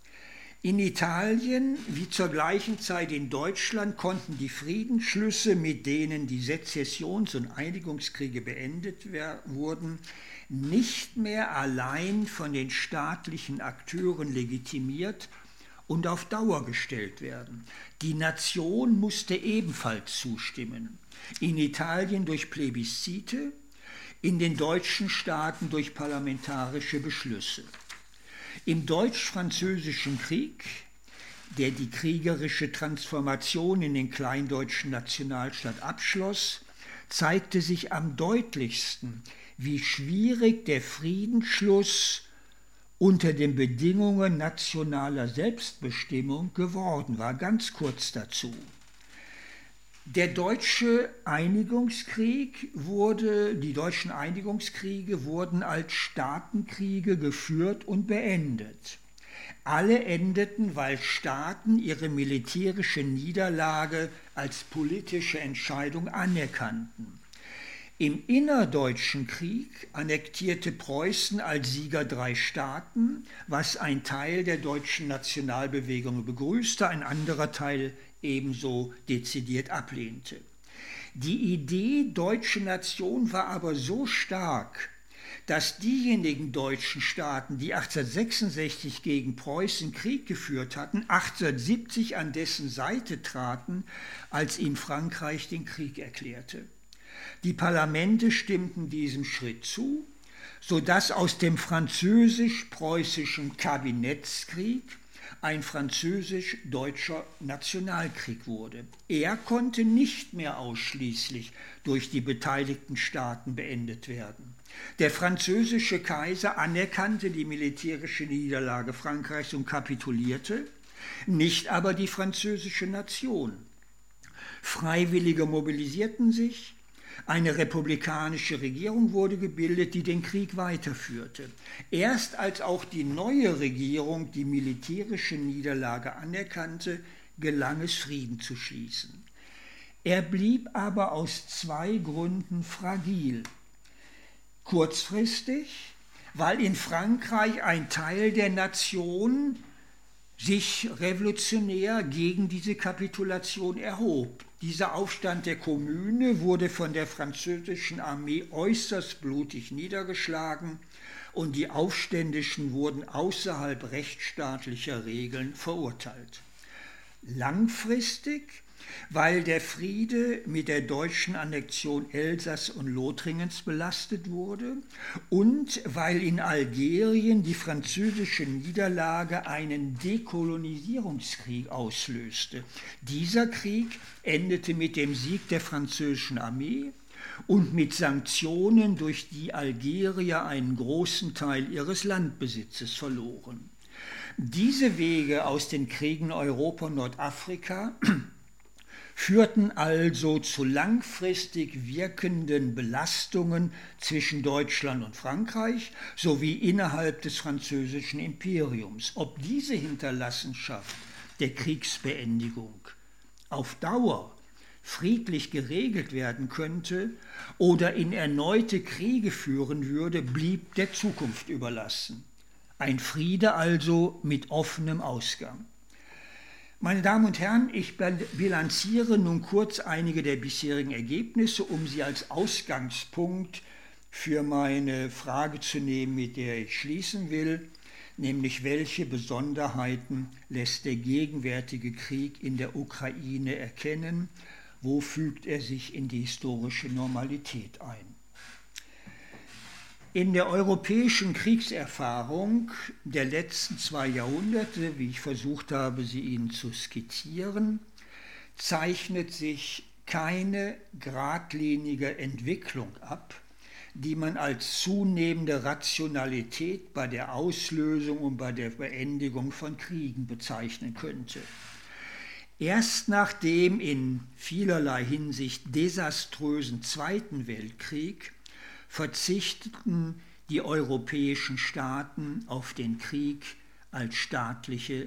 In Italien wie zur gleichen Zeit in Deutschland konnten die Friedensschlüsse, mit denen die Sezessions- und Einigungskriege beendet wurden, nicht mehr allein von den staatlichen Akteuren legitimiert und auf Dauer gestellt werden. Die Nation musste ebenfalls zustimmen. In Italien durch Plebiszite, in den deutschen Staaten durch parlamentarische Beschlüsse. Im Deutsch-Französischen Krieg, der die kriegerische Transformation in den kleindeutschen Nationalstaat abschloss, zeigte sich am deutlichsten, wie schwierig der Friedensschluss unter den Bedingungen nationaler Selbstbestimmung geworden war. Ganz kurz dazu. Die deutschen Einigungskriege wurden als Staatenkriege geführt und beendet. Alle endeten, weil Staaten ihre militärische Niederlage als politische Entscheidung anerkannten. Im Innerdeutschen Krieg annektierte Preußen als Sieger 3 Staaten, was ein Teil der deutschen Nationalbewegung begrüßte, ein anderer Teil ebenso dezidiert ablehnte. Die Idee deutsche Nation war aber so stark, dass diejenigen deutschen Staaten, die 1866 gegen Preußen Krieg geführt hatten, 1870 an dessen Seite traten, als ihm Frankreich den Krieg erklärte. Die Parlamente stimmten diesem Schritt zu, sodass aus dem französisch-preußischen Kabinettskrieg ein französisch-deutscher Nationalkrieg wurde. Er konnte nicht mehr ausschließlich durch die beteiligten Staaten beendet werden. Der französische Kaiser anerkannte die militärische Niederlage Frankreichs und kapitulierte, nicht aber die französische Nation. Freiwillige mobilisierten sich, eine republikanische Regierung wurde gebildet, die den Krieg weiterführte. Erst als auch die neue Regierung die militärische Niederlage anerkannte, gelang es, Frieden zu schließen. Er blieb aber aus 2 Gründen fragil. Kurzfristig, weil in Frankreich ein Teil der Nation sich revolutionär gegen diese Kapitulation erhob. Dieser Aufstand der Kommune wurde von der französischen Armee äußerst blutig niedergeschlagen und die Aufständischen wurden außerhalb rechtsstaatlicher Regeln verurteilt. Langfristig, weil der Friede mit der deutschen Annexion Elsass und Lothringens belastet wurde und weil in Algerien die französische Niederlage einen Dekolonisierungskrieg auslöste. Dieser Krieg endete mit dem Sieg der französischen Armee und mit Sanktionen, durch die Algerier einen großen Teil ihres Landbesitzes verloren. Diese Wege aus den Kriegen Europa und Nordafrika führten also zu langfristig wirkenden Belastungen zwischen Deutschland und Frankreich sowie innerhalb des französischen Imperiums. Ob diese Hinterlassenschaft der Kriegsbeendigung auf Dauer friedlich geregelt werden könnte oder in erneute Kriege führen würde, blieb der Zukunft überlassen. Ein Friede also mit offenem Ausgang. Meine Damen und Herren, ich bilanziere nun kurz einige der bisherigen Ergebnisse, um sie als Ausgangspunkt für meine Frage zu nehmen, mit der ich schließen will, nämlich welche Besonderheiten lässt der gegenwärtige Krieg in der Ukraine erkennen, wo fügt er sich in die historische Normalität ein. In der europäischen Kriegserfahrung der letzten 2 Jahrhunderte, wie ich versucht habe, sie Ihnen zu skizzieren, zeichnet sich keine geradlinige Entwicklung ab, die man als zunehmende Rationalität bei der Auslösung und bei der Beendigung von Kriegen bezeichnen könnte. Erst nach dem in vielerlei Hinsicht desaströsen Zweiten Weltkrieg verzichteten die europäischen Staaten auf den Krieg als staatliche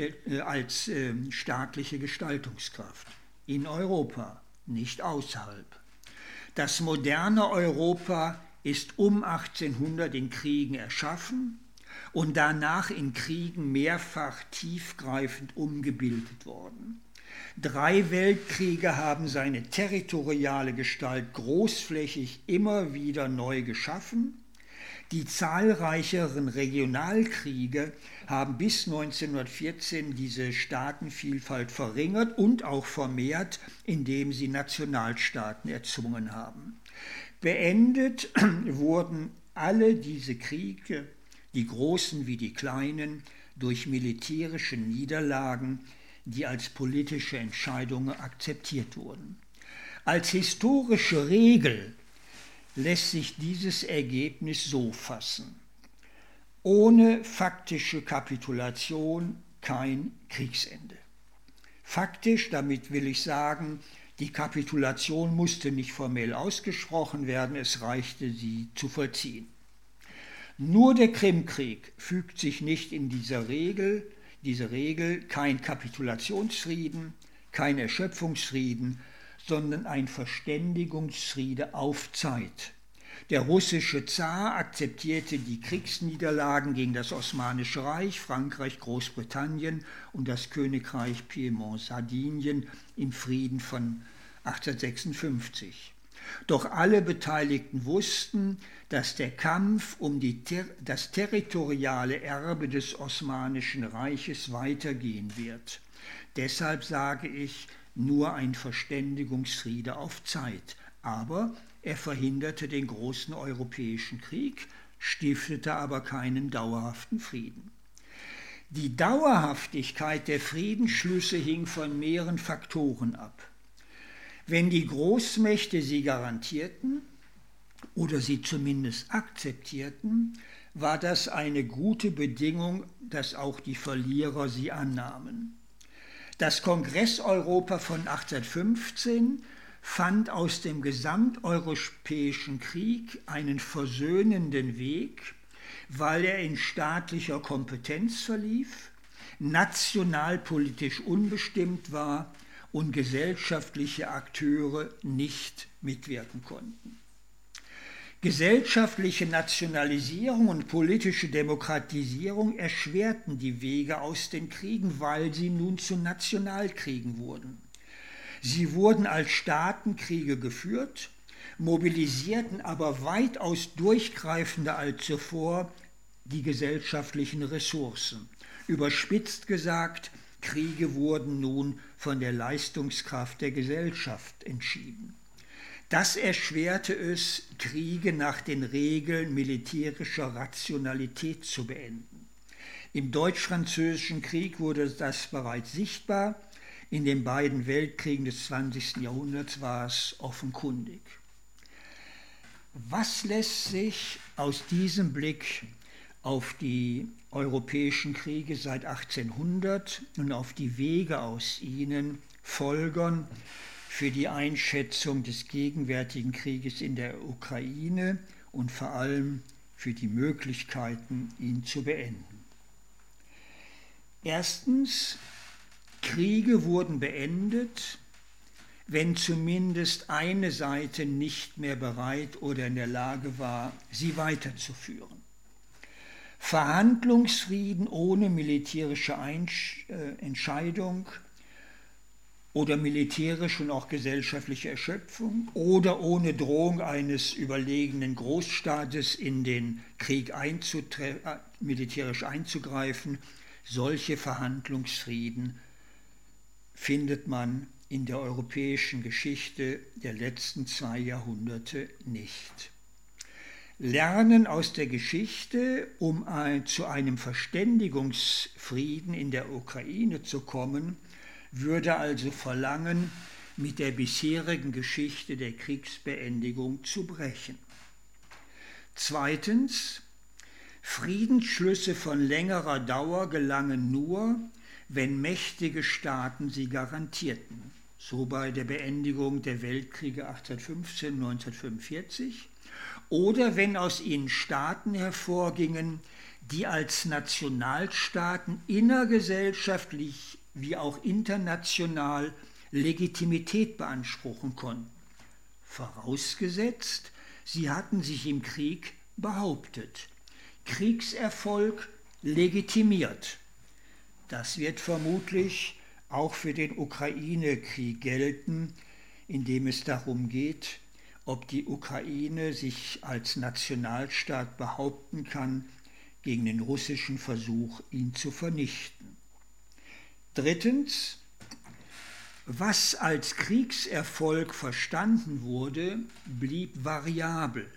Gestaltungskraft. In Europa, nicht außerhalb. Das moderne Europa ist um 1800 in Kriegen erschaffen und danach in Kriegen mehrfach tiefgreifend umgebildet worden. 3 Weltkriege haben seine territoriale Gestalt großflächig immer wieder neu geschaffen. Die zahlreicheren Regionalkriege haben bis 1914 diese Staatenvielfalt verringert und auch vermehrt, indem sie Nationalstaaten erzwungen haben. Beendet wurden alle diese Kriege, die großen wie die kleinen, durch militärische Niederlagen, die als politische Entscheidungen akzeptiert wurden. Als historische Regel lässt sich dieses Ergebnis so fassen: Ohne faktische Kapitulation kein Kriegsende. Faktisch, damit will ich sagen, die Kapitulation musste nicht formell ausgesprochen werden, es reichte, sie zu vollziehen. Nur der Krimkrieg fügt sich nicht in diese Regel, kein Kapitulationsfrieden, kein Erschöpfungsfrieden, sondern ein Verständigungsfriede auf Zeit. Der russische Zar akzeptierte die Kriegsniederlagen gegen das Osmanische Reich, Frankreich, Großbritannien und das Königreich Piemont-Sardinien im Frieden von 1856. Doch alle Beteiligten wussten, dass der Kampf um das territoriale Erbe des Osmanischen Reiches weitergehen wird. Deshalb sage ich, nur ein Verständigungsfriede auf Zeit. Aber er verhinderte den großen europäischen Krieg, stiftete aber keinen dauerhaften Frieden. Die Dauerhaftigkeit der Friedensschlüsse hing von mehreren Faktoren ab. Wenn die Großmächte sie garantierten oder sie zumindest akzeptierten, war das eine gute Bedingung, dass auch die Verlierer sie annahmen. Das Kongress-Europa von 1815 fand aus dem gesamteuropäischen Krieg einen versöhnenden Weg, weil er in staatlicher Kompetenz verlief, nationalpolitisch unbestimmt war und gesellschaftliche Akteure nicht mitwirken konnten. Gesellschaftliche Nationalisierung und politische Demokratisierung erschwerten die Wege aus den Kriegen, weil sie nun zu Nationalkriegen wurden. Sie wurden als Staatenkriege geführt, mobilisierten aber weitaus durchgreifender als zuvor die gesellschaftlichen Ressourcen. Überspitzt gesagt, Kriege wurden nun von der Leistungskraft der Gesellschaft entschieden. Das erschwerte es, Kriege nach den Regeln militärischer Rationalität zu beenden. Im Deutsch-Französischen Krieg wurde das bereits sichtbar, in den beiden Weltkriegen des 20. Jahrhunderts war es offenkundig. Was lässt sich aus diesem Blick auf die europäischen Kriege seit 1800 und auf die Wege aus ihnen folgern für die Einschätzung des gegenwärtigen Krieges in der Ukraine und vor allem für die Möglichkeiten, ihn zu beenden? Erstens, Kriege wurden beendet, wenn zumindest eine Seite nicht mehr bereit oder in der Lage war, sie weiterzuführen. Verhandlungsfrieden ohne militärische Entscheidung oder militärische und auch gesellschaftliche Erschöpfung oder ohne Drohung eines überlegenen Großstaates in den Krieg militärisch einzugreifen, solche Verhandlungsfrieden findet man in der europäischen Geschichte der letzten 2 Jahrhunderte nicht. Lernen aus der Geschichte, um zu einem Verständigungsfrieden in der Ukraine zu kommen, würde also verlangen, mit der bisherigen Geschichte der Kriegsbeendigung zu brechen. Zweitens, Friedensschlüsse von längerer Dauer gelangen nur, wenn mächtige Staaten sie garantierten. So bei der Beendigung der Weltkriege 1815 und 1945. Oder wenn aus ihnen Staaten hervorgingen, die als Nationalstaaten innergesellschaftlich wie auch international Legitimität beanspruchen konnten. Vorausgesetzt, sie hatten sich im Krieg behauptet. Kriegserfolg legitimiert. Das wird vermutlich auch für den Ukraine-Krieg gelten, in dem es darum geht, ob die Ukraine sich als Nationalstaat behaupten kann gegen den russischen Versuch, ihn zu vernichten. Drittens, was als Kriegserfolg verstanden wurde, blieb variabel.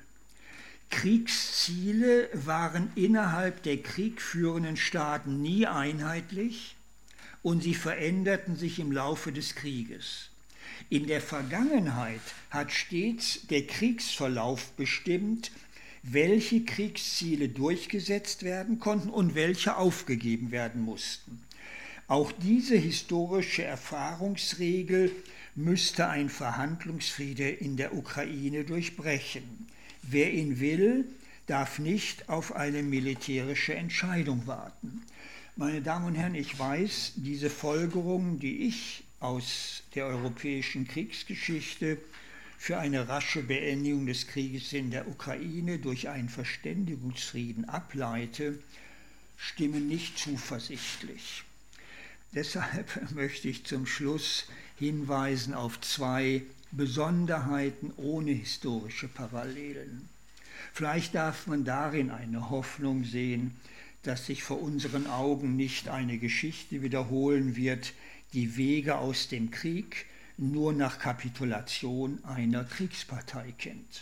Kriegsziele waren innerhalb der kriegführenden Staaten nie einheitlich und sie veränderten sich im Laufe des Krieges. In der Vergangenheit hat stets der Kriegsverlauf bestimmt, welche Kriegsziele durchgesetzt werden konnten und welche aufgegeben werden mussten. Auch diese historische Erfahrungsregel müsste ein Verhandlungsfriede in der Ukraine durchbrechen. Wer ihn will, darf nicht auf eine militärische Entscheidung warten. Meine Damen und Herren, ich weiß, diese Folgerungen, die ich aus der europäischen Kriegsgeschichte für eine rasche Beendigung des Krieges in der Ukraine durch einen Verständigungsfrieden ableite, stimmen nicht zuversichtlich. Deshalb möchte ich zum Schluss hinweisen auf 2 Besonderheiten ohne historische Parallelen. Vielleicht darf man darin eine Hoffnung sehen, dass sich vor unseren Augen nicht eine Geschichte wiederholen wird, die Wege aus dem Krieg nur nach Kapitulation einer Kriegspartei kennt.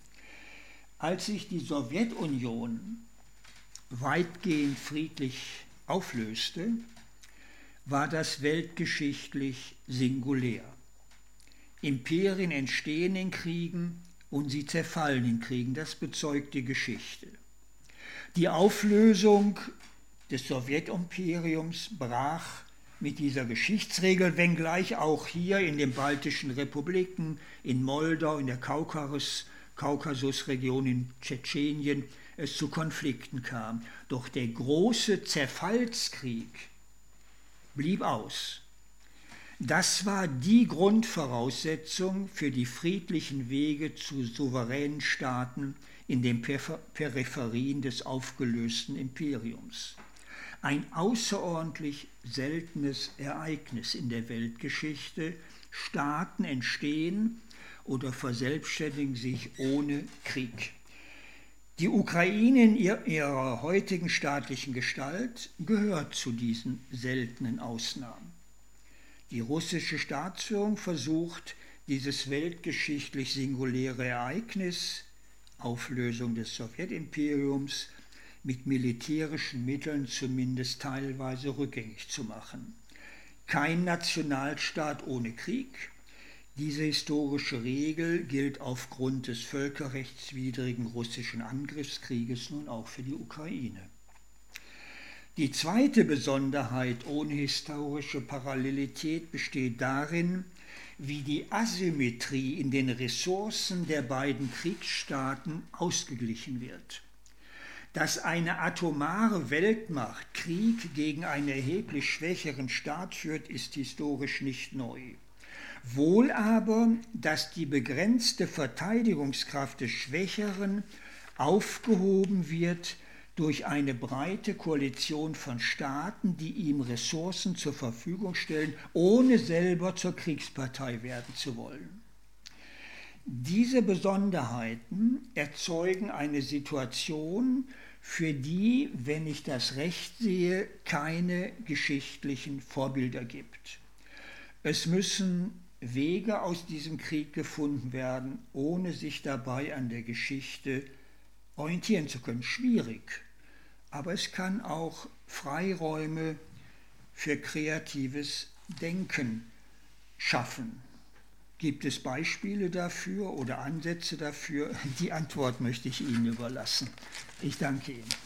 Als sich die Sowjetunion weitgehend friedlich auflöste, war das weltgeschichtlich singulär. Imperien entstehen in Kriegen und sie zerfallen in Kriegen, das bezeugt die Geschichte. Die Auflösung des Sowjetimperiums brach mit dieser Geschichtsregel, wenngleich auch hier in den baltischen Republiken, in Moldau, in der Kaukasusregion, in Tschetschenien es zu Konflikten kam. Doch der große Zerfallskrieg blieb aus. Das war die Grundvoraussetzung für die friedlichen Wege zu souveränen Staaten in den Peripherien des aufgelösten Imperiums. Ein außerordentlich seltenes Ereignis in der Weltgeschichte. Staaten entstehen oder verselbstständigen sich ohne Krieg. Die Ukraine in ihrer heutigen staatlichen Gestalt gehört zu diesen seltenen Ausnahmen. Die russische Staatsführung versucht, dieses weltgeschichtlich singuläre Ereignis, Auflösung des Sowjetimperiums, mit militärischen Mitteln zumindest teilweise rückgängig zu machen. Kein Nationalstaat ohne Krieg. Diese historische Regel gilt aufgrund des völkerrechtswidrigen russischen Angriffskrieges nun auch für die Ukraine. Die zweite Besonderheit ohne historische Parallelität besteht darin, wie die Asymmetrie in den Ressourcen der beiden Kriegsstaaten ausgeglichen wird. Dass eine atomare Weltmacht Krieg gegen einen erheblich schwächeren Staat führt, ist historisch nicht neu. Wohl aber, dass die begrenzte Verteidigungskraft des Schwächeren aufgehoben wird durch eine breite Koalition von Staaten, die ihm Ressourcen zur Verfügung stellen, ohne selber zur Kriegspartei werden zu wollen. Diese Besonderheiten erzeugen eine Situation, für die, wenn ich das recht sehe, keine geschichtlichen Vorbilder gibt. Es müssen Wege aus diesem Krieg gefunden werden, ohne sich dabei an der Geschichte orientieren zu können. Schwierig, aber es kann auch Freiräume für kreatives Denken schaffen. Gibt es Beispiele dafür oder Ansätze dafür? Die Antwort möchte ich Ihnen überlassen. Ich danke Ihnen.